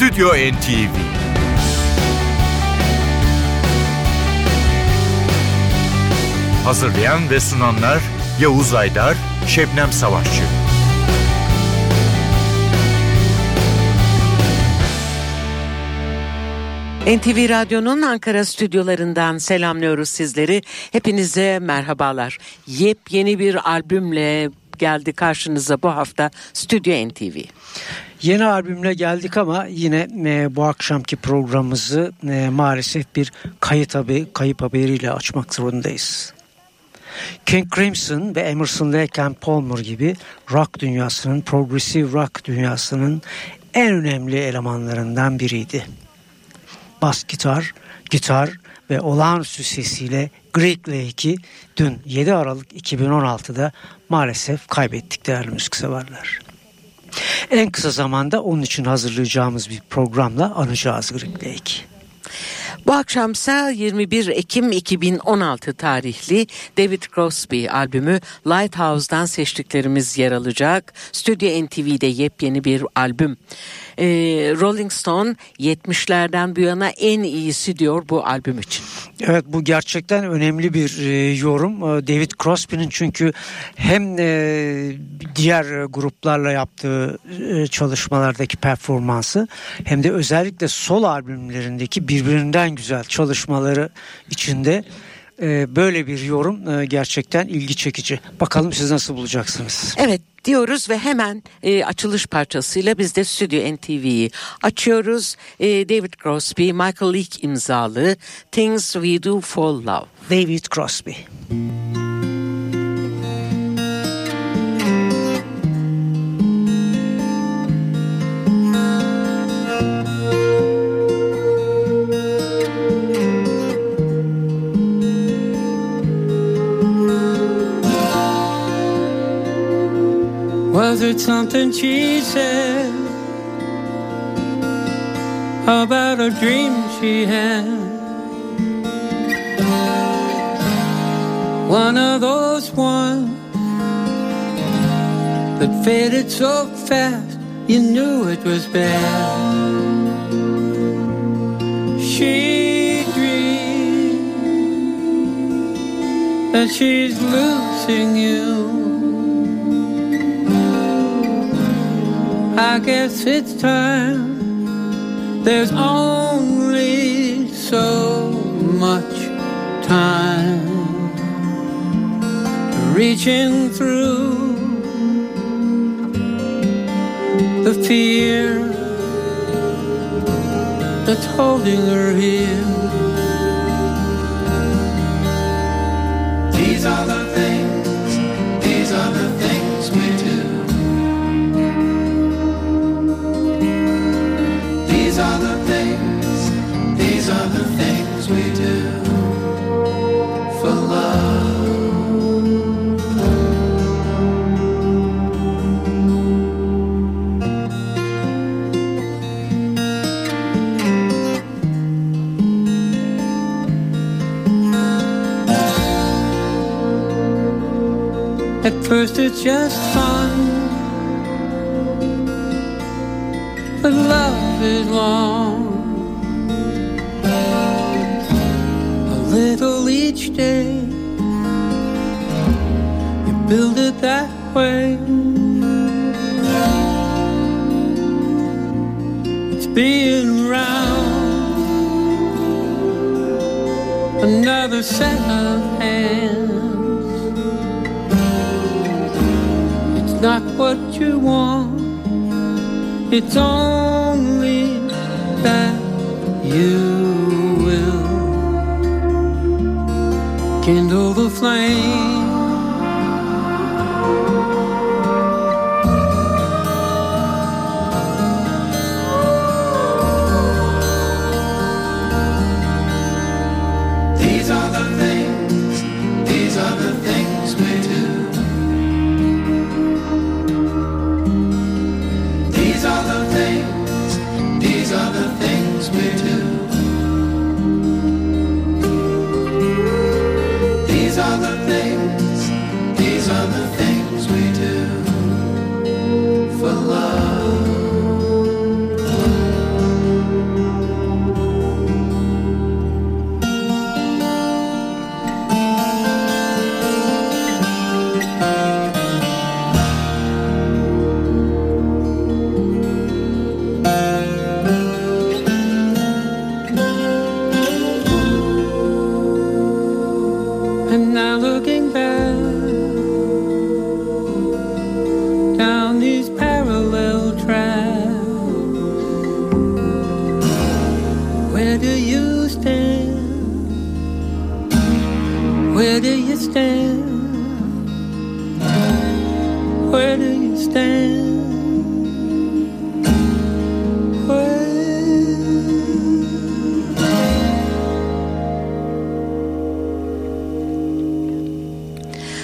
Stüdyo NTV. Hazırlayan ve sunanlar Yavuz Aydar, Şebnem Savaşçı. NTV Radyo'nun Ankara stüdyolarından selamlıyoruz sizleri. Hepinize merhabalar. Yepyeni bir albümle geldi karşınıza bu hafta Stüdyo NTV. Yeni albümle geldik ama yine bu akşamki programımızı maalesef bir kayıp haberiyle açmak zorundayız. King Crimson ve Emerson Lake and Palmer gibi rock dünyasının, progressive rock dünyasının en önemli elemanlarından biriydi. Bas gitar ve olağanüstü sesiyle Greg Lake'i dün 7 Aralık 2016'da maalesef kaybettik değerli müzikseverler. En kısa zamanda onun için hazırlayacağımız bir programla anacağız Greg Lake'i. Bu akşamsa 21 Ekim 2016 tarihli David Crosby albümü Lighthouse'dan seçtiklerimiz yer alacak. Stüdyo NTV'de yepyeni bir albüm. Rolling Stone 70'lerden bu yana en iyisi diyor bu albüm için. Evet, bu gerçekten önemli bir yorum. David Crosby'nin çünkü hem diğer gruplarla yaptığı çalışmalardaki performansı hem de özellikle solo albümlerindeki birbirinden güzel çalışmaları içinde böyle bir yorum gerçekten ilgi çekici. Bakalım siz nasıl bulacaksınız? Evet diyoruz ve hemen açılış parçasıyla biz de Stüdyo NTV'yi açıyoruz. David Crosby, Michael Leake imzalı Things We Do For Love. David Crosby. Was it something she said about a dream she had? One of those ones that faded so fast you knew it was bad. She dreamed that she's losing you. I guess it's time. There's only so much time. Reaching through the fear that's holding her here. These are the things, these are the things we do. These are the things, these are the things we do for love. At first it's just fun, but love is long. A little each day, you build it that way. It's being around another set of hands. It's not what you want, it's only that you will kindle the flame. These are the things, these are the things we do. These are the things, these are the things we do. These are the things,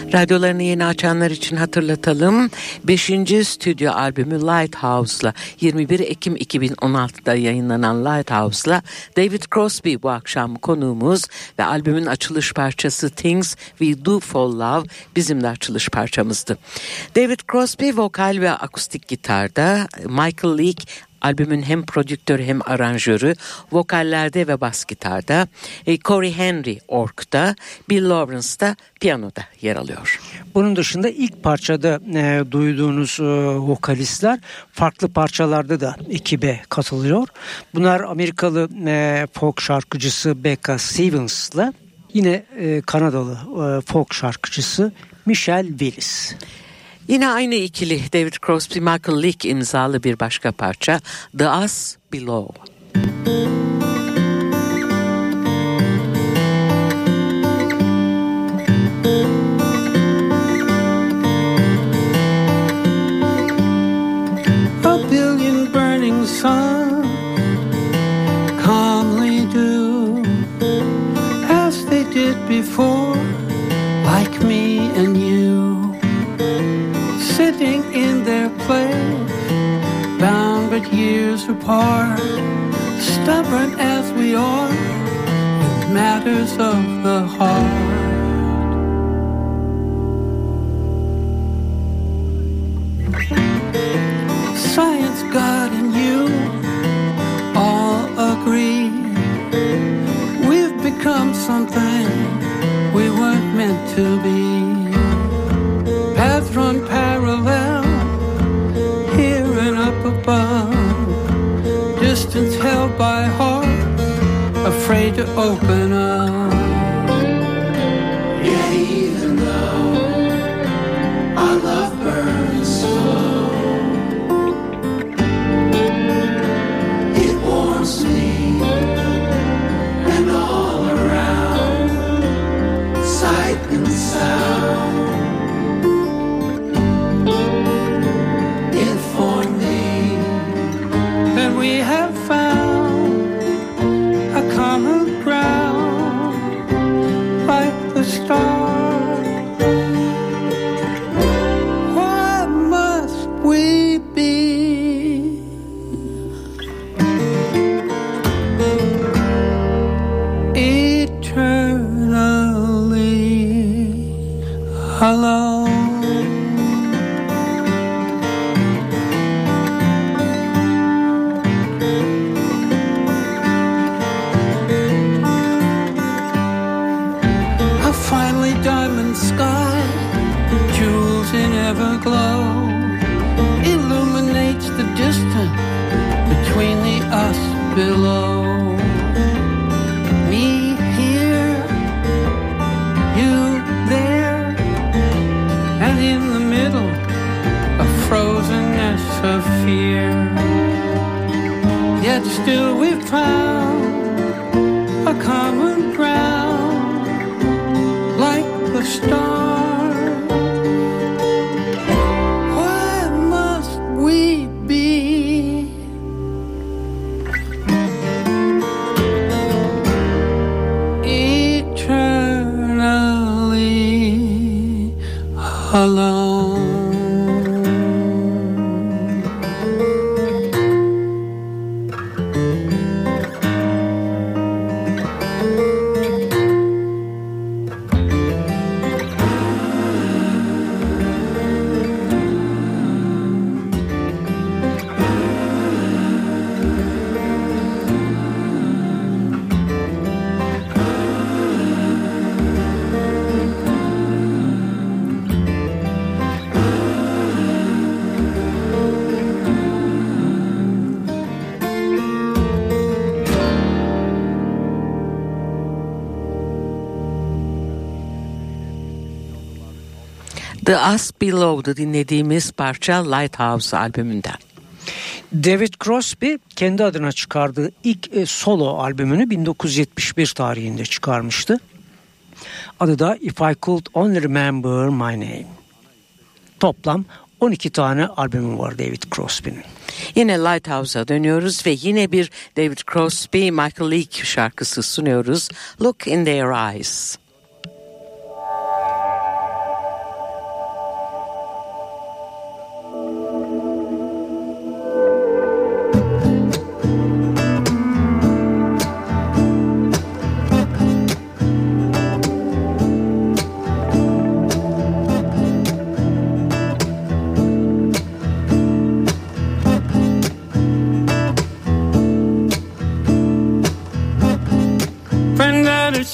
Radyolarını yeni açanlar için hatırlatalım. 5. stüdyo albümü Lighthouse'la 21 Ekim 2016'da yayınlanan Lighthouse'la David Crosby bu akşam konuğumuz ve albümün açılış parçası Things We Do For Love bizim de açılış parçamızdı. David Crosby vokal ve akustik gitarda, Michael Leake albümün hem prodüktörü hem aranjörü, vokallerde ve bas gitarda, Corey Henry org'da, Bill Lawrence da piyanoda yer alıyor. Bunun dışında ilk parçada duyduğunuz vokalistler farklı parçalarda da ekibe katılıyor. Bunlar Amerikalı folk şarkıcısı Becca Stevens'la yine Kanadalı folk şarkıcısı Michelle Willis. Yine aynı ikili David Crosby, Michael Leake imzalı bir başka parça The Us Below. A billion burning suns calmly do as they did before, like me and you, sitting in their place, bound but years apart, stubborn as we are in matters of the heart. Science, God, and you all agree we've become something we weren't meant to be. Paths run parallel, here and up above, distance held by heart, afraid to open up. Yet even though our love burns slow, it warms me, and all around, sight and sound inform me That we have found a common ground, like the stars. What must we be? Eternally alone. A finely diamond sky, jewels in everglow, illuminates the distance between the us below. Me here, you there, and in the middle, a frozenness of fear. Yet still we've found a common ground, like the stars. What must we be? Eternally alone. The Us Below'da dinlediğimiz parça Lighthouse albümünden. David Crosby kendi adına çıkardığı ilk solo albümünü 1971 tarihinde çıkarmıştı. Adı da If I Could Only Remember My Name. Toplam 12 tane albümü var David Crosby'nin. Yine Lighthouse'a dönüyoruz ve yine bir David Crosby, Michael Leake şarkısı sunuyoruz. Look in Their Eyes.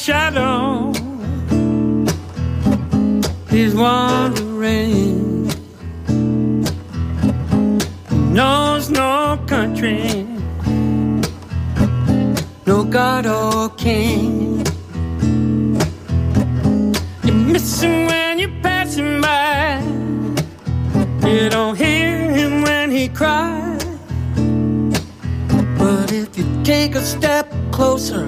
shadow. He's wandering, knows no country, no God or king. You miss him when you pass him by. You don't hear him when he cries. But if you take a step closer,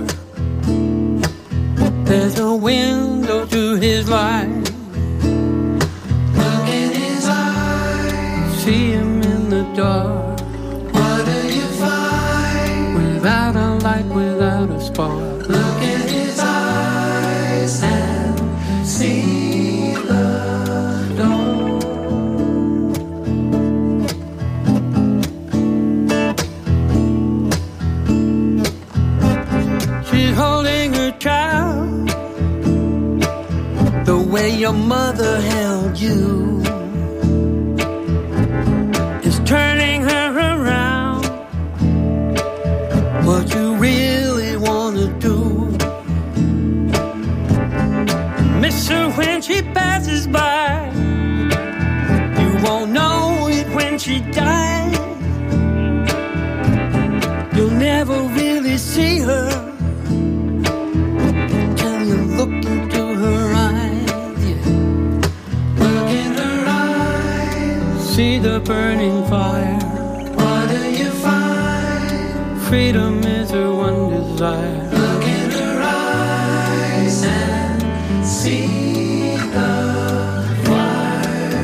there's a window to his life. Look in his eyes. See him in the dark. What do you find? Without a light, without a spark. Look in his eyes and see the dawn. She's holding her child the way your mother held you. It's turning her around. What you really wanna do. Miss her when she passes by. You won't know it when she dies. You'll never really see her till you look into her eyes. Yeah. Look in her eyes. See the burning fire. What do you find? Freedom is her one desire. Look in her eyes and see the fire.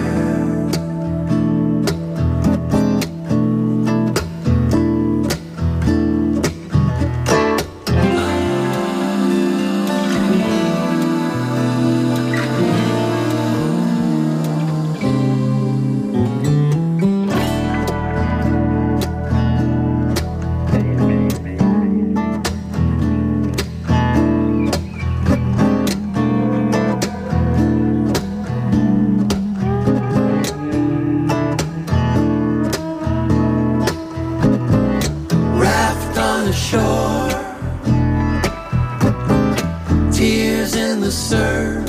Raft on the shore, tears in the surf,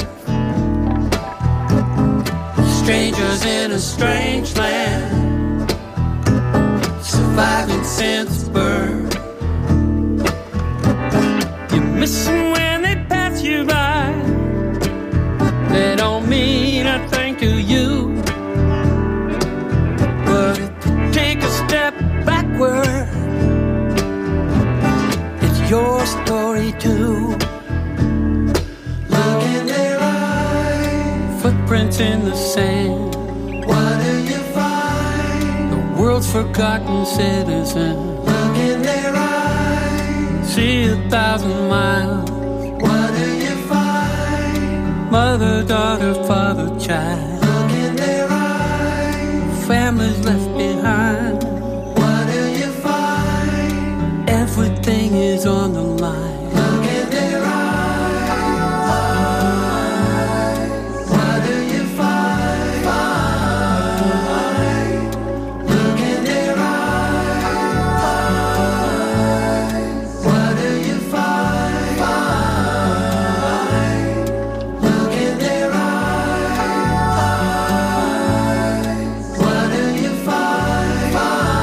strangers in a strange land, surviving since birth. You miss them when they pass you by. They don't mean a thing to you. But if you take a step backward, it's your story too. Look in their eyes. Footprints in the sand. What do you find? The world's forgotten citizen. Look in their eyes. See 1,000 miles. What do you find? Mother, daughter, father, child. Look in their eyes. Families left behind. What do you find? Everything is on the line. Look in their eyes. What do you find? Look in their eyes. What do you find? Look in their eyes. What do you find?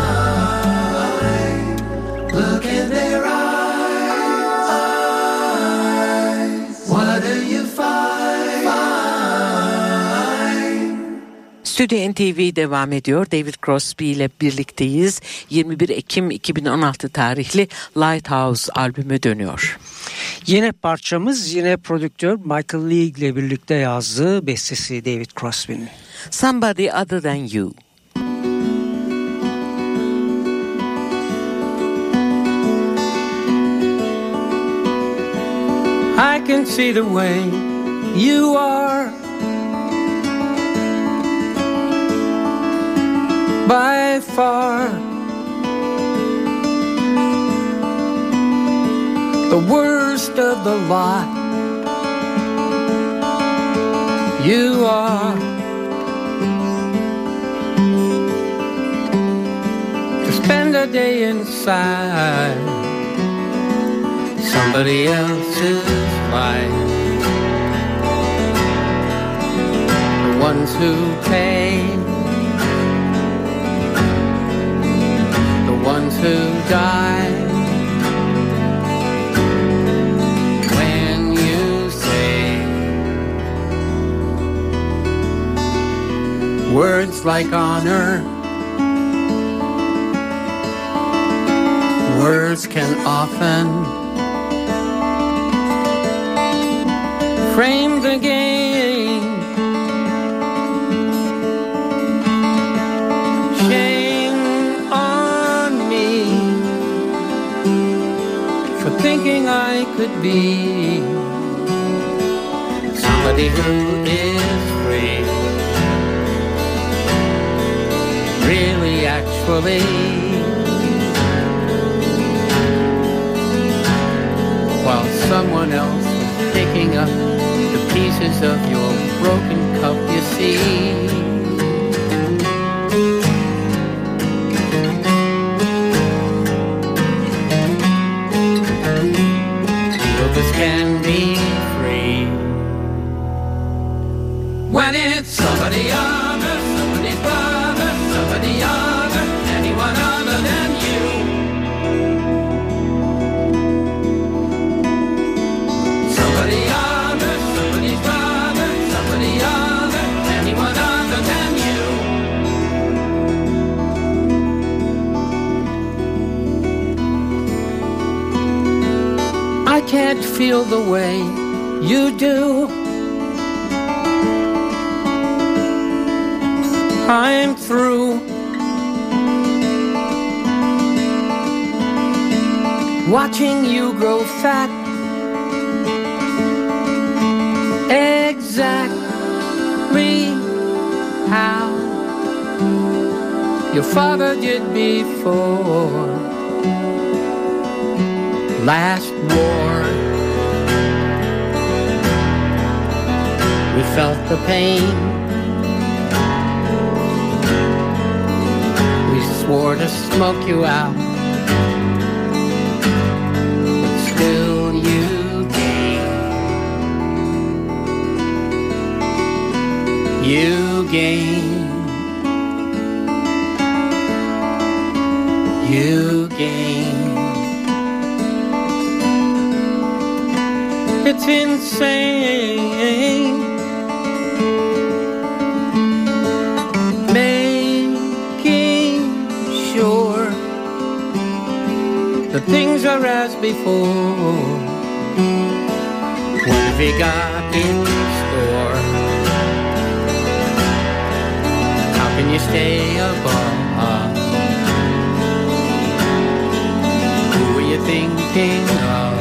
Look in their eyes. What do you find? Stüdyo NTV devam ediyor. David Crosby ile birlikteyiz. 21 Ekim 2016 tarihli Lighthouse albümü dönüyor. Yine parçamız yine prodüktör Michael League ile birlikte yazdığı bestesi David Crosby'nin. Somebody Other Than You. I can see the way you are by far the worst of the lot. You are to spend a day inside somebody else's life. The ones who pay, the ones who die. When you say words like honor, words can often frame the game. Shame on me for thinking I could be somebody who is free, really actually, while someone else is picking up the pieces of your broken cup, you see. Others can be free when it's somebody other, somebody's brother, somebody other, anyone other than you. Somebody other, somebody's brother, somebody other, anyone other than you. I can't feel the way you do. I'm through watching you grow fat. Exactly how your father did before last war. We felt the pain, we swore to smoke you out, but still you gain. You gain. You gain. It's insane, making sure that things are as before. What have you got in store? How can you stay above? Who are you thinking of?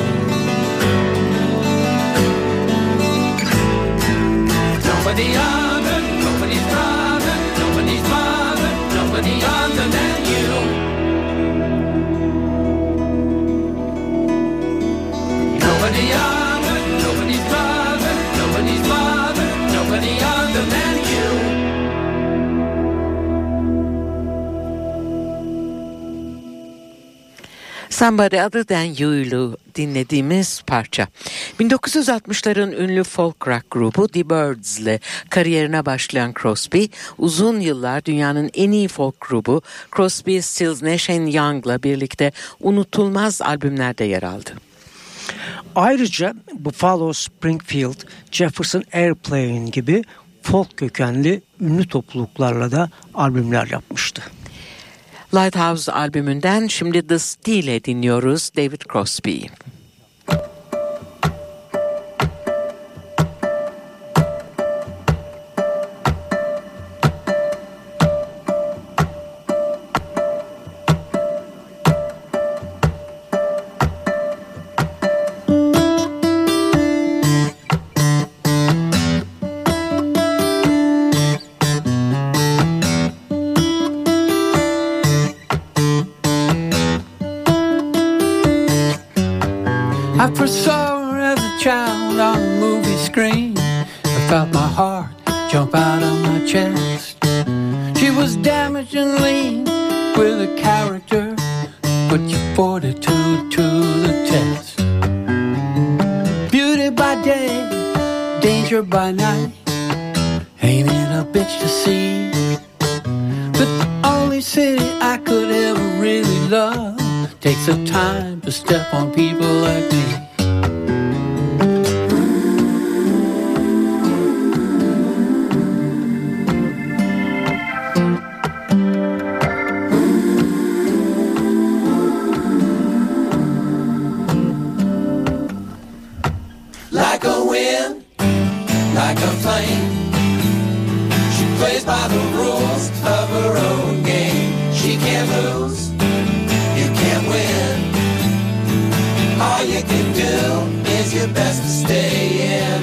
Nobody other, nobody's brother, nobody's mother, nobody other than you. Nobody other, nobody's brother, nobody's mother, nobody other than you. Somebody Other Than You'lu dinlediğimiz parça. 1960'ların ünlü folk rock grubu The Byrds'le kariyerine başlayan Crosby, uzun yıllar dünyanın en iyi folk grubu Crosby, Stills, Nash & Young'la birlikte unutulmaz albümlerde yer aldı. Ayrıca Buffalo Springfield, Jefferson Airplane gibi folk kökenli ünlü topluluklarla da albümler yapmıştı. Lighthouse albümünden şimdi The Steel'e dinliyoruz David Crosby'yi. I first saw her as a child on a movie screen. I felt my heart jump out of my chest. She was damaged and lean with a character, put your fortitude to the test. pleasure by night. Ain't it a bitch to see? But the only city I could ever really love takes the time to step on people like me. Like a wind, like a flame, she plays by the rules of her own game. She can't lose, you can't win. All you can do is your best to stay in.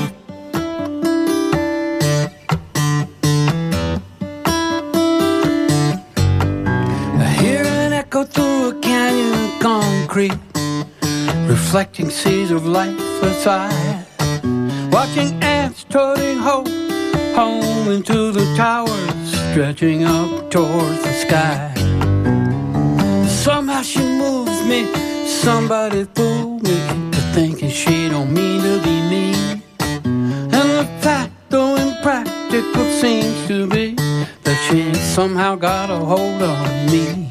I hear an echo through a canyon of concrete, reflecting seas of light aside. Watching ants toting hope home into the towers, stretching up towards the sky. Somehow she moves me, somebody fooled me into thinking she don't mean to be mean. And the fact, though impractical seems to be, that she somehow got a hold on me.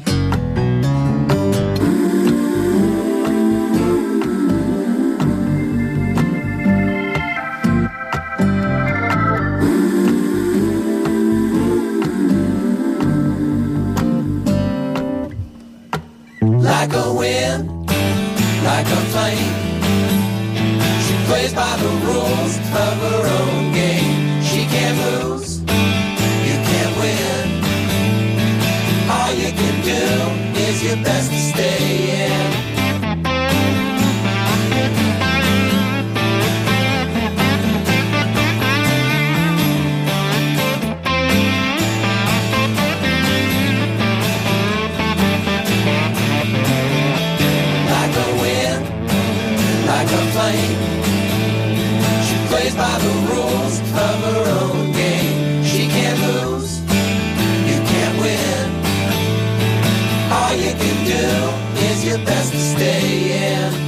Like a wind, like a flame, she plays by the rules of her own game. She can't lose, you can't win. All you can do is your best to stay in. She plays by the rules of her own game. She can't lose, you can't win. All you can do is your best to stay in.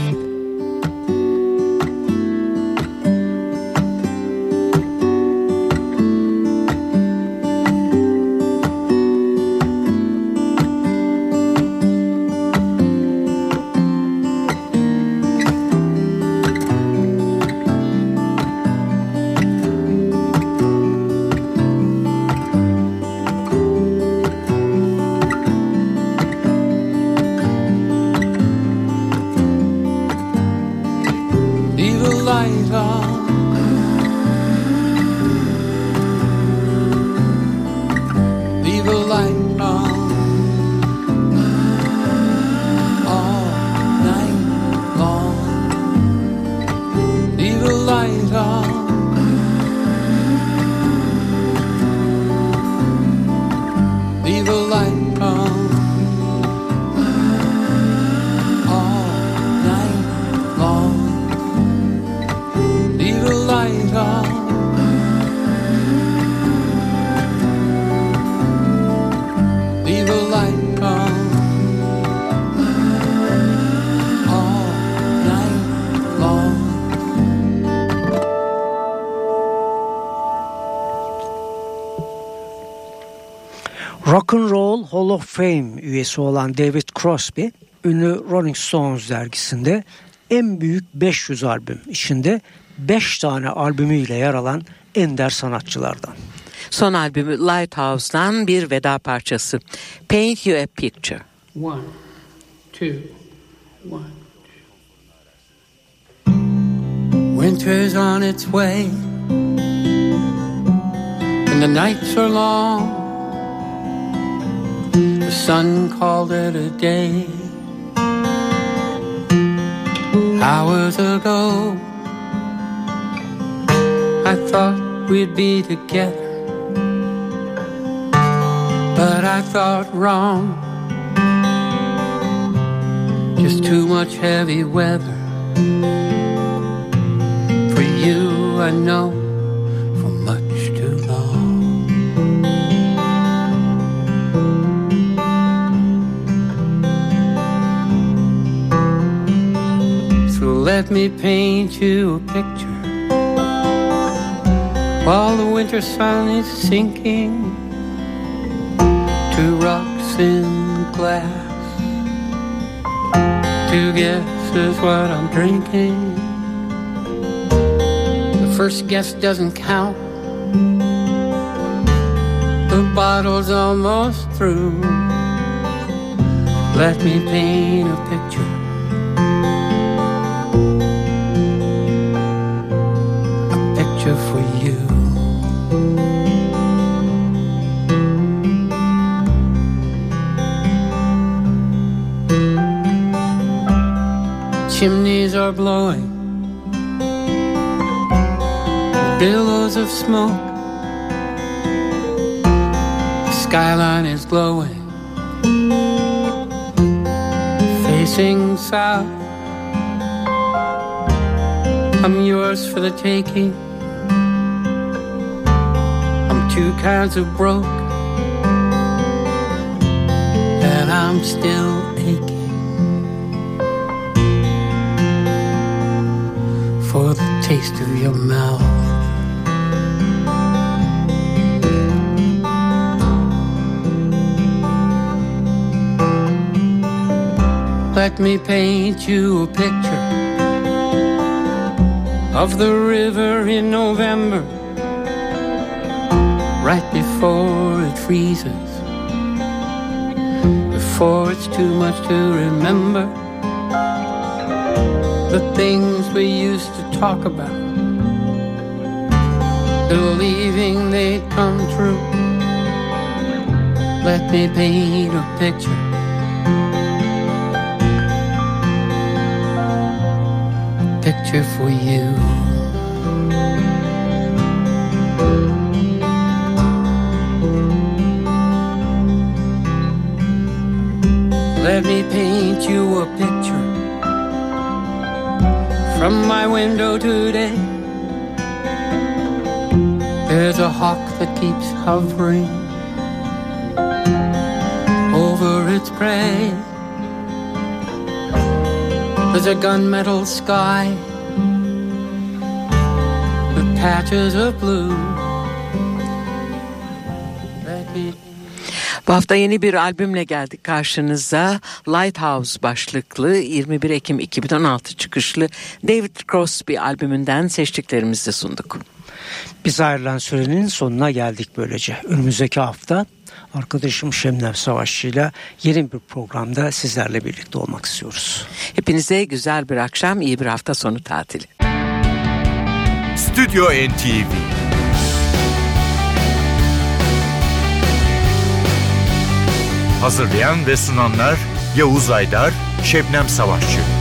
Rock and Roll Hall of Fame üyesi olan David Crosby, ünlü Rolling Stones dergisinde en büyük 500 albüm içinde 5 tane albümüyle yer alan ender sanatçılardan. Son albümü Lighthouse'dan bir veda parçası. Paint You a Picture. 1, 2, 1. Winter's on its way and the nights are long. The sun called it a day. Hours ago I thought we'd be together, but I thought wrong. Just too much heavy weather for you, I know, for much too long. So let me paint you a picture while the winter sun is sinking to rocks in glass. Two guesses what I'm drinking. The first guess doesn't count. The bottle's almost through. Let me paint a picture. A picture for you. Chimneys are blowing, billows of smoke. The skyline is glowing, facing south. I'm yours for the taking. I'm two kinds of broke, and I'm still aching for the taste of your mouth. Let me paint you a picture of the river in November, right before it freezes, before it's too much to remember. The things we used to talk about, believing they'd come true. Let me paint a picture, a picture for you. Let me paint you a picture from my window today. There's a hawk that keeps hovering over its prey. There's a gunmetal sky with patches of blue. Bu hafta yeni bir albümle geldik karşınıza. Lighthouse başlıklı 21 Ekim 2016 çıkışlı David Crosby albümünden seçtiklerimizi sunduk. Biz ayrılan sürenin sonuna geldik böylece. Önümüzdeki hafta arkadaşım Şebnem Savaşçı ile yeni bir programda sizlerle birlikte olmak istiyoruz. Hepinize güzel bir akşam, iyi bir hafta sonu tatili. Stüdyo NTV. Hazırlayan ve sunanlar Yavuz Aydar, Şebnem Savaşçı.